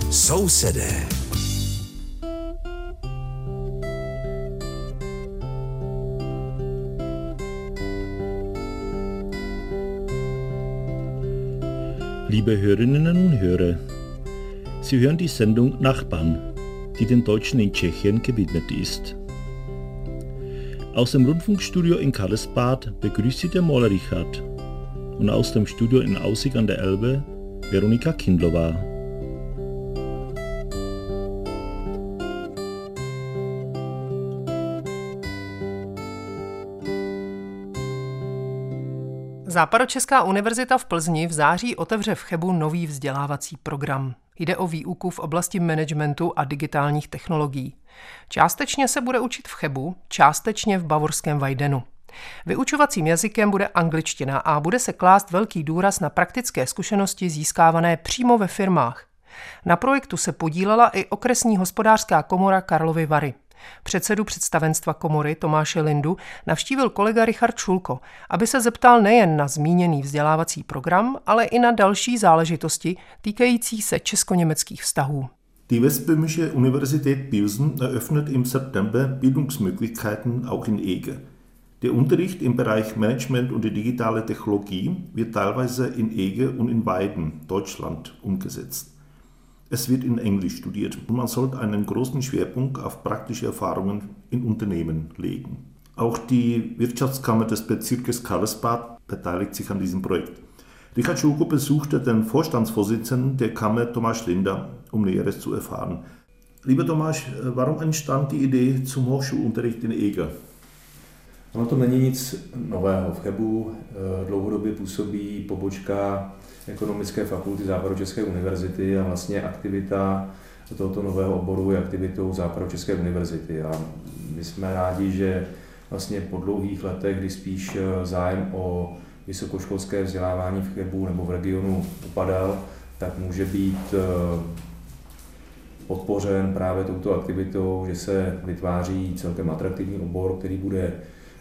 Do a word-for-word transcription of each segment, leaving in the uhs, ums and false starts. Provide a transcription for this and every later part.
Sousedé. Liebe Hörerinnen und Hörer, Sie hören die Sendung Nachbarn, die den Deutschen in Tschechien gewidmet ist. Aus dem Rundfunkstudio in Karlsbad begrüßt Sie der Maler Richard und aus dem Studio in Aussig an der Elbe Veronika Kindlova. Západočeská univerzita v Plzni v září otevře v Chebu nový vzdělávací program. Jde o výuku v oblasti managementu a digitálních technologií. Částečně se bude učit v Chebu, částečně v bavorském Weidenu. Vyučovacím jazykem bude angličtina a bude se klást velký důraz na praktické zkušenosti získávané přímo ve firmách. Na projektu se podílela i okresní hospodářská komora Karlovy Vary. Předsedu představenstva komory Tomáše Lindu navštívil kolega Richard Šulko, aby se zeptal nejen na zmíněný vzdělávací program, ale i na další záležitosti týkající se česko-německých vztahů. Die Westböhmische Universität Pilsen eröffnet im September Bildungsmöglichkeiten auch in Ege. Der Unterricht im Bereich Management und die digitale Technologie wird teilweise in Ege und in Weiden, Deutschland, umgesetzt. Es wird in Englisch studiert und man sollte einen großen Schwerpunkt auf praktische Erfahrungen in Unternehmen legen. Auch die Wirtschaftskammer des Bezirkes Karlsbad beteiligt sich an diesem Projekt. Richard Schulko besuchte den Vorstandsvorsitzenden der Kammer Tomáš Linda, um Näheres zu erfahren. Lieber Tomáš, warum entstand die Idee zum Hochschulunterricht in Ege? Ono to není nic nového. V Chebu dlouhodobě působí pobočka Ekonomické fakulty Západočeské univerzity a vlastně aktivita tohoto nového oboru je aktivitou Západočeské univerzity. A my jsme rádi, že vlastně po dlouhých letech, kdy spíš zájem o vysokoškolské vzdělávání v Chebu nebo v regionu upadal, tak může být podpořen právě touto aktivitou, že se vytváří celkem atraktivní obor, který bude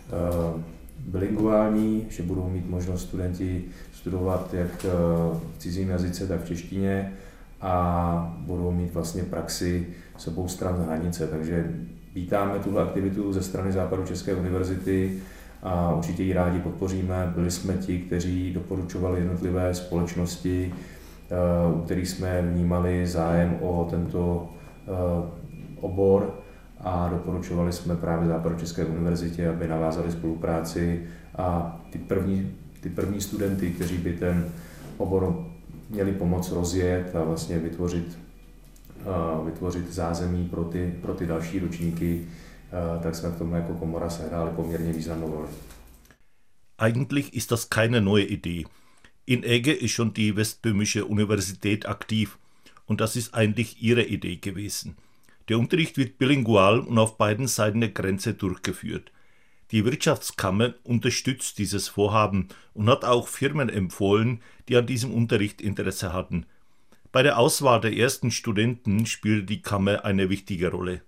bilingvální, že budou mít možnost studenti studovat jak v cizím jazyce, tak v češtině a budou mít vlastně praxi s obou stran hranice. Takže vítáme tuhle aktivitu ze strany Západočeské univerzity a určitě ji rádi podpoříme. Byli jsme ti, kteří doporučovali jednotlivé společnosti, u kterých jsme vnímali zájem o tento obor, a doporučovali jsme právě Západočeské univerzitě, aby navázali spolupráci a ty první, ty první studenty, kteří by ten obor měli pomoct rozjet a vlastně vytvořit, uh, vytvořit zázemí pro ty, pro ty další ročníky, uh, tak jsme v tom jako komora sehráli poměrně významnou roli. Eigentlich ist das keine neue Idee. In Ege ist schon die Westböhmische Universität aktiv und das ist eigentlich ihre Idee gewesen. Der Unterricht wird bilingual und auf beiden Seiten der Grenze durchgeführt. Die Wirtschaftskammer unterstützt dieses Vorhaben und hat auch Firmen empfohlen, die an diesem Unterricht Interesse hatten. Bei der Auswahl der ersten Studenten spielte die Kammer eine wichtige Rolle.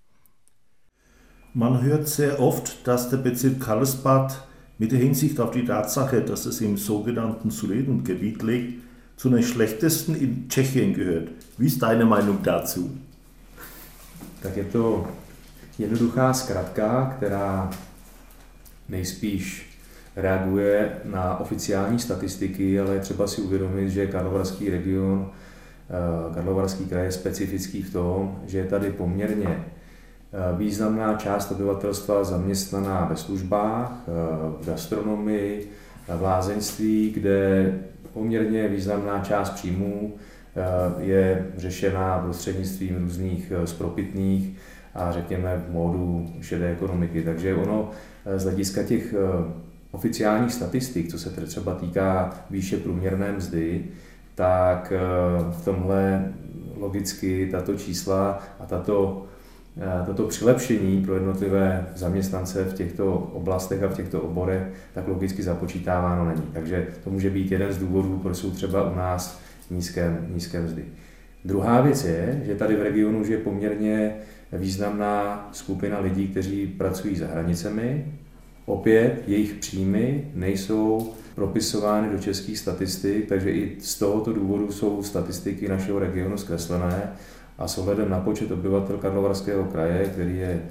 Man hört sehr oft, dass der Bezirk Karlsbad mit der Hinsicht auf die Tatsache, dass es im sogenannten Sudetengebiet liegt, zu den schlechtesten in Tschechien gehört. Wie ist deine Meinung dazu? Tak je to jednoduchá zkratka, která nejspíš reaguje na oficiální statistiky, ale je třeba si uvědomit, že Karlovarský region, Karlovarský kraj je specifický v tom, že je tady poměrně významná část obyvatelstva zaměstnaná ve službách, v gastronomii, v lázeňství, kde poměrně významná část příjmů je řešená prostřednictvím různých spropitných a řekněme v módu šedé ekonomiky. Takže ono z hlediska těch oficiálních statistik, co se třeba týká výše průměrné mzdy, tak v tomhle logicky tato čísla a tato, tato přilepšení pro jednotlivé zaměstnance v těchto oblastech a v těchto oborech tak logicky započítáváno není. Takže to může být jeden z důvodů, proč jsou třeba u nás nízké, nízké mzdy. Druhá věc je, že tady v regionu je poměrně významná skupina lidí, kteří pracují za hranicemi. Opět jejich příjmy nejsou propisovány do českých statistik, takže i z tohoto důvodu jsou statistiky našeho regionu zkreslené A s ohledem na počet obyvatel Karlovarského kraje, který je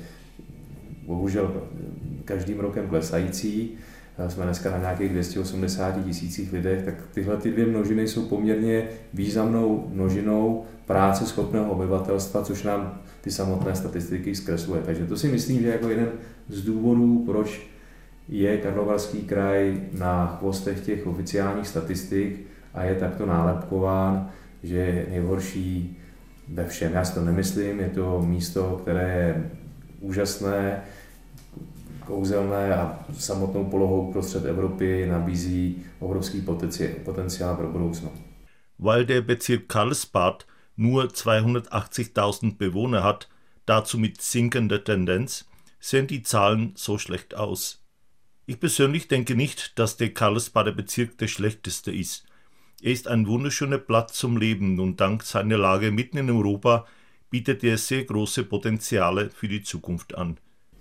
bohužel každým rokem klesající, jsme dneska na nějakých dvě stě osmdesát tisících lidech, tak tyhle ty dvě množiny jsou poměrně významnou množinou práce schopného obyvatelstva, což nám ty samotné statistiky zkresluje. Takže to si myslím, že jako jeden z důvodů, proč je Karlovarský kraj na chvostech těch oficiálních statistik a je takto nálepkován, že je nejhorší ve všem. Já si to nemyslím, je to místo, které je úžasné, kouzelné a samotnou polohou prostřed Evropy nabízí obrovský potenciál pro budoucnost. Weil der Bezirk Karlsbad nur zweihundertachtzigtausend Bewohner hat, dazu mit sinkender Tendenz, sehen die Zahlen so schlecht aus. Ich persönlich denke nicht, dass der Karlsbader Bezirk der schlechteste ist. Er ist ein wunderschöner Platz zum Leben und dank seiner Lage mitten in Europa bietet er sehr große Potenziale für die Zukunft an.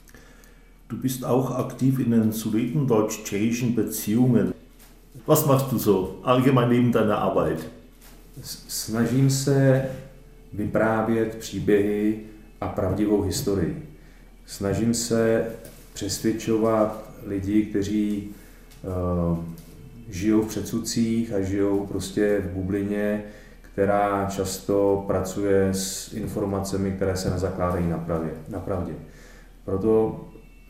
Du bist auch aktiv in den sudetendeutsch-tschechischen Beziehungen. Was machst du so allgemein neben deiner Arbeit? Snažím se vyprávět příběhy a pravdivou historii. Snažím se přesvědčovat lidi, kteří uh, žijou v předsudcích a žijou prostě v bublině, která často pracuje s informacemi, které se nezakládají na pravdě. Na pravdě. Proto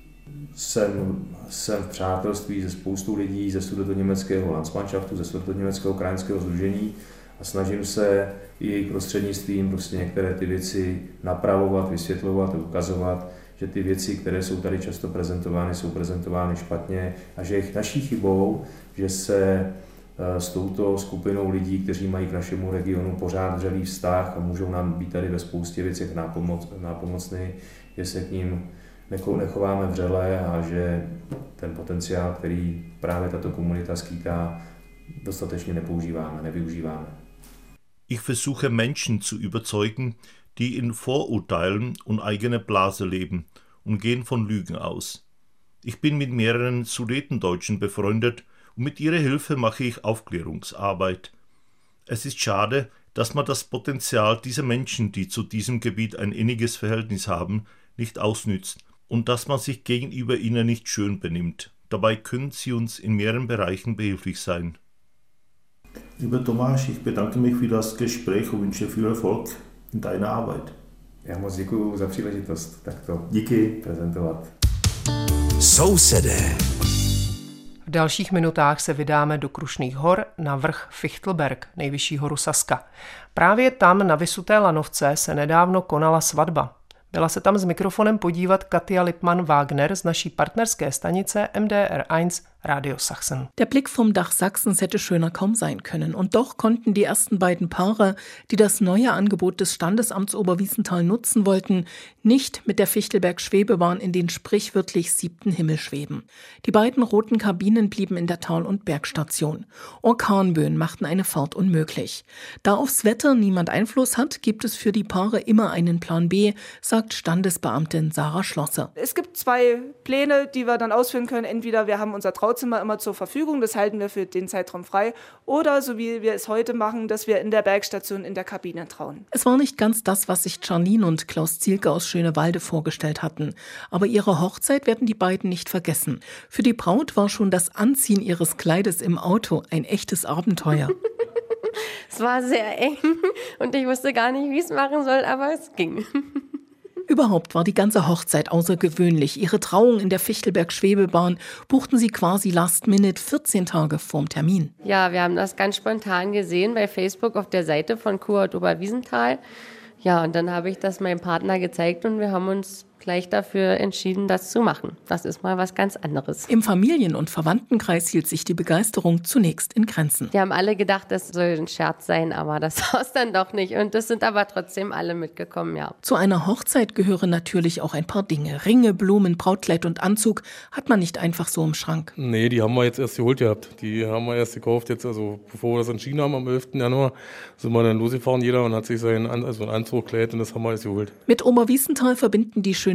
jsem, jsem v přátelství se spoustou lidí ze sudetoněmeckého Landsmannschaftu, ze sudetoněmeckého krajanského sdružení a snažím se i jejich prostřednictvím prostě některé ty věci napravovat, vysvětlovat a ukazovat, že ty věci, které jsou tady často prezentovány, jsou prezentovány špatně a že je naší chybou, že se s touto skupinou lidí, kteří mají k našemu regionu pořád vřelý vztah a můžou nám být tady ve spoustě věcech nápomoc, nápomocný, že se k ním nechováme vřele a že ten potenciál, který právě tato komunita skýtá, dostatečně nepoužíváme, nevyužíváme. Ich versuche Menschen zu überzeugen, die in Vorurteilen und eigener Blase leben und gehen von Lügen aus. Ich bin mit mehreren Sudetendeutschen befreundet und mit ihrer Hilfe mache ich Aufklärungsarbeit. Es ist schade, dass man das Potenzial dieser Menschen, die zu diesem Gebiet ein inniges Verhältnis haben, nicht ausnützt und dass man sich gegenüber ihnen nicht schön benimmt. Dabei können sie uns in mehreren Bereichen behilflich sein. Lieber Tomáš, ich bedanke mich für das Gespräch und wünsche viel Erfolg in deiner Arbeit. Já moc děkuji za příležitost takto Díky. prezentovat. Sousedé. V dalších minutách se vydáme do Krušných hor na vrch Fichtelberg, nejvyšší horu Saska. Právě tam na vysuté lanovce se nedávno konala svatba. Byla se tam s mikrofonem podívat Katja Lippmann-Wagner z naší partnerské stanice M D R eins Radio Sachsen. Der Blick vom Dach Sachsens hätte schöner kaum sein können. Und doch konnten die ersten beiden Paare, die das neue Angebot des Standesamts Oberwiesenthal nutzen wollten, nicht mit der Fichtelberg-Schwebebahn in den sprichwörtlich siebten Himmel schweben. Die beiden roten Kabinen blieben in der Tal- und Bergstation. Orkanböen machten eine Fahrt unmöglich. Da aufs Wetter niemand Einfluss hat, gibt es für die Paare immer einen Plan B, sagt Standesbeamtin Sarah Schlosser. Es gibt zwei Pläne, die wir dann ausführen können. Entweder wir haben unser Trauzimmer immer zur Verfügung, das halten wir für den Zeitraum frei, oder so wie wir es heute machen, dass wir in der Bergstation in der Kabine trauen. Es war nicht ganz das, was sich Charlene und Klaus Zielke aus Schönewalde vorgestellt hatten. Aber ihre Hochzeit werden die beiden nicht vergessen. Für die Braut war schon das Anziehen ihres Kleides im Auto ein echtes Abenteuer. Es war sehr eng und ich wusste gar nicht, wie ich es machen soll, aber es ging. Überhaupt war die ganze Hochzeit außergewöhnlich. Ihre Trauung in der Fichtelberg-Schwebebahn buchten sie quasi last minute, vierzehn Tage vorm Termin. Ja, wir haben das ganz spontan gesehen bei Facebook auf der Seite von Kurort Oberwiesenthal. Ja, und dann habe ich das meinem Partner gezeigt und wir haben uns gleich dafür entschieden, das zu machen. Das ist mal was ganz anderes. Im Familien- und Verwandtenkreis hielt sich die Begeisterung zunächst in Grenzen. Die haben alle gedacht, das soll ein Scherz sein, aber das war es dann doch nicht. Und das sind aber trotzdem alle mitgekommen, ja. Zu einer Hochzeit gehören natürlich auch ein paar Dinge. Ringe, Blumen, Brautkleid und Anzug hat man nicht einfach so im Schrank. Nee, die haben wir jetzt erst geholt gehabt. Die haben wir erst gekauft, jetzt, also bevor wir das entschieden haben, am elften Januar, sind wir dann losgefahren, jeder, und hat sich seinen also ein Anzug, Kleid, und das haben wir jetzt geholt. Mit Oberwiesenthal verbinden die schöne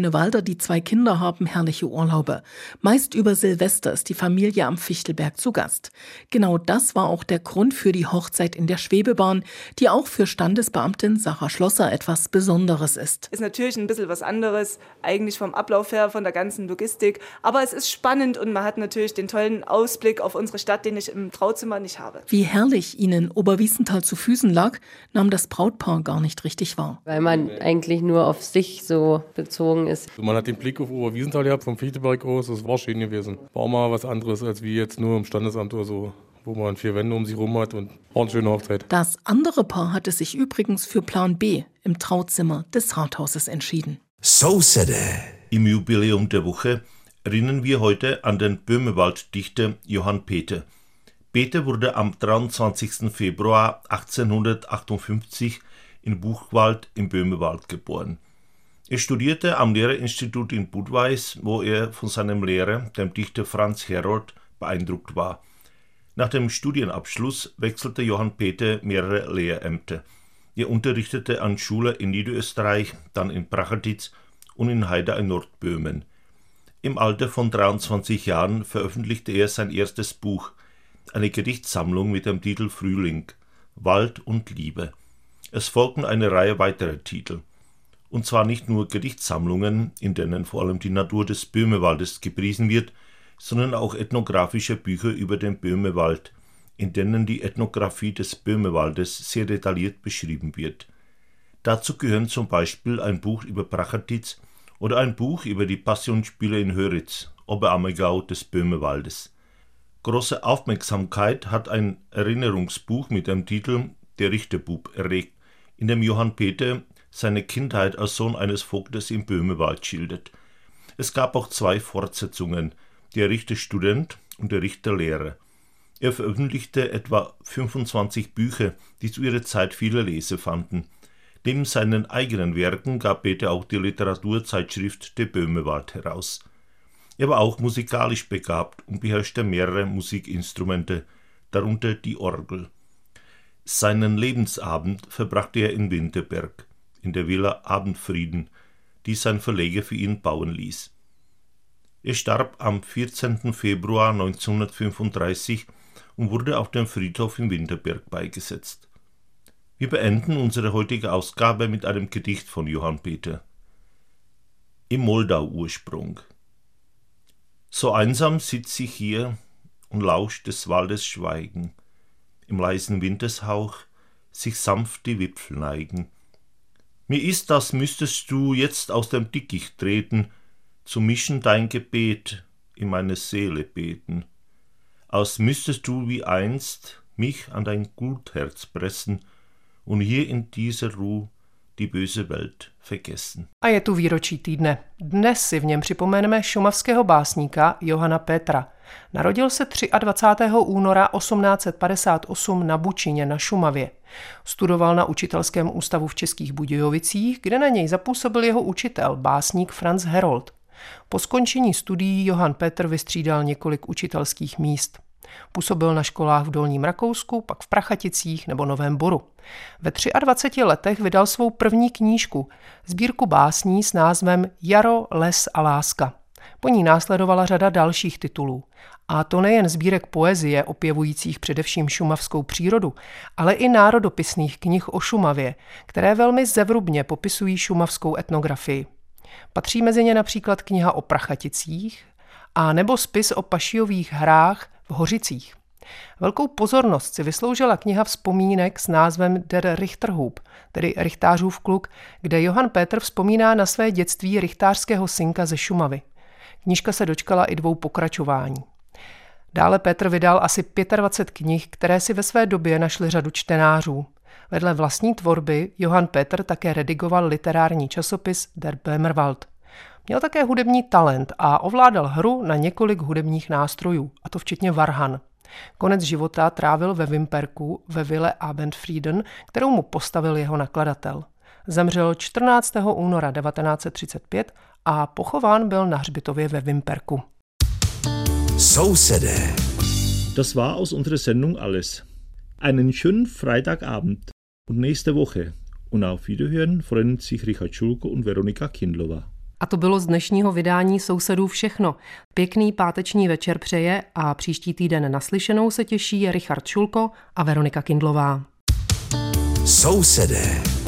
Grünewalder, die zwei Kinder haben herrliche Urlaube. Meist über Silvester ist die Familie am Fichtelberg zu Gast. Genau das war auch der Grund für die Hochzeit in der Schwebebahn, die auch für Standesbeamtin Sarah Schlosser etwas Besonderes ist. Ist natürlich ein bisschen was anderes, eigentlich vom Ablauf her, von der ganzen Logistik. Aber es ist spannend und man hat natürlich den tollen Ausblick auf unsere Stadt, den ich im Trauzimmer nicht habe. Wie herrlich ihnen Oberwiesenthal zu Füßen lag, nahm das Brautpaar gar nicht richtig wahr. Weil man eigentlich nur auf sich so bezogen ist. Also man hat den Blick auf Oberwiesenthal gehabt, vom Fichtelberg aus, das war schön gewesen. War mal was anderes, als wie jetzt nur im Standesamt oder so, wo man vier Wände um sich rum hat und war eine schöne Hochzeit. Das andere Paar hatte sich übrigens für Plan B im Trauzimmer des Rathauses entschieden. So said it. Im Jubiläum der Woche erinnern wir heute an den Böhmewald-Dichter Johann Pether. Pether wurde am dreiundzwanzigsten Februar achtzehnhundertachtundfünfzig in Buchwald im Böhmewald geboren. Er studierte am Lehrerinstitut in Budweis, wo er von seinem Lehrer, dem Dichter Franz Herold, beeindruckt war. Nach dem Studienabschluss wechselte Johann Pether mehrere Lehrämter. Er unterrichtete an Schulen in Niederösterreich, dann in Prachatitz und in Haida in Nordböhmen. Im Alter von dreiundzwanzig Jahren veröffentlichte er sein erstes Buch, eine Gedichtsammlung mit dem Titel Frühling, Wald und Liebe. Es folgten eine Reihe weiterer Titel. Und zwar nicht nur Gedichtsammlungen, in denen vor allem die Natur des Böhmewaldes gepriesen wird, sondern auch ethnografische Bücher über den Böhmewald, in denen die Ethnographie des Böhmewaldes sehr detailliert beschrieben wird. Dazu gehören zum Beispiel ein Buch über Prachatitz oder ein Buch über die Passionsspiele in Höritz, Oberammergau des Böhmewaldes. Große Aufmerksamkeit hat ein Erinnerungsbuch mit dem Titel Der Richterbub erregt, in dem Johann Pether seine Kindheit als Sohn eines Vogtes im Böhmewald schildert. Es gab auch zwei Fortsetzungen, Der Richterstudent und Der Richterlehrer. Er veröffentlichte etwa fünfundzwanzig Bücher, die zu ihrer Zeit viele Leser fanden. Neben seinen eigenen Werken gab Pether auch die Literaturzeitschrift Der Böhmewald heraus. Er war auch musikalisch begabt und beherrschte mehrere Musikinstrumente, darunter die Orgel. Seinen Lebensabend verbrachte er in Winterberg, in der Villa Abendfrieden, die sein Verleger für ihn bauen ließ. Er starb am vierzehnten Februar neunzehnhundertfünfunddreißig und wurde auf dem Friedhof in Winterberg beigesetzt. Wir beenden unsere heutige Ausgabe mit einem Gedicht von Johann Pether. Im Moldau-Ursprung. So einsam sitz ich hier und lausch des Waldes Schweigen, im leisen Wintershauch sich sanft die Wipfel neigen. Mir ist, als müsstest du jetzt aus dem Dickicht treten, zu mischen dein Gebet in meine Seele beten, als müsstest du wie einst mich an dein Gutherz pressen und hier in dieser Ruhe die böse Welt vergessen. A je tu výročí týdne. Dnes si v něm připomeneme šumavského básníka Johanna Petra. Narodil se dvacátého třetího února osmnáct set padesát osm na Bučině na Šumavě. Studoval na učitelském ústavu v Českých Budějovicích, kde na něj zapůsobil jeho učitel, básník Franz Herold. Po skončení studií Johann Petr vystřídal několik učitelských míst. Působil na školách v Dolním Rakousku, pak v Prachaticích nebo Novém Boru. Ve dvaceti třech letech vydal svou první knížku, sbírku básní s názvem Jaro, les a láska. Po ní následovala řada dalších titulů. A to nejen sbírek poezie opěvujících především šumavskou přírodu, ale i národopisných knih o Šumavě, které velmi zevrubně popisují šumavskou etnografii. Patří mezi ně například kniha o Prachaticích a nebo spis o pašiových hrách v Hořicích. Velkou pozornost si vysloužila kniha vzpomínek s názvem Der Richterhub, tedy Richtářův kluk, kde Johann Petr vzpomíná na své dětství richtářského synka ze Šumavy. Knížka se dočkala i dvou pokračování. Dále Petr vydal asi dvacet pět knih, které si ve své době našly řadu čtenářů. Vedle vlastní tvorby Johann Petr také redigoval literární časopis Der Böhmerwald. Měl také hudební talent a ovládal hru na několik hudebních nástrojů, a to včetně varhan. Konec života trávil ve Vimperku ve ville Abendfrieden, kterou mu postavil jeho nakladatel. Zemřel čtrnáctého února devatenáct set třicet pět a pochován byl na hřbitově ve Vimperku. So said it. Das war aus unserer Sendung alles. Einen schönen Freitagabend und nächste Woche. Und auf Wiederhören freuen sich Richard Schulko und Veronika Kindlova. A to bylo z dnešního vydání Sousedů všechno. Pěkný páteční večer přeje a příští týden naslyšenou se těší Richard Šulko a Veronika Kindlová. Sousedé.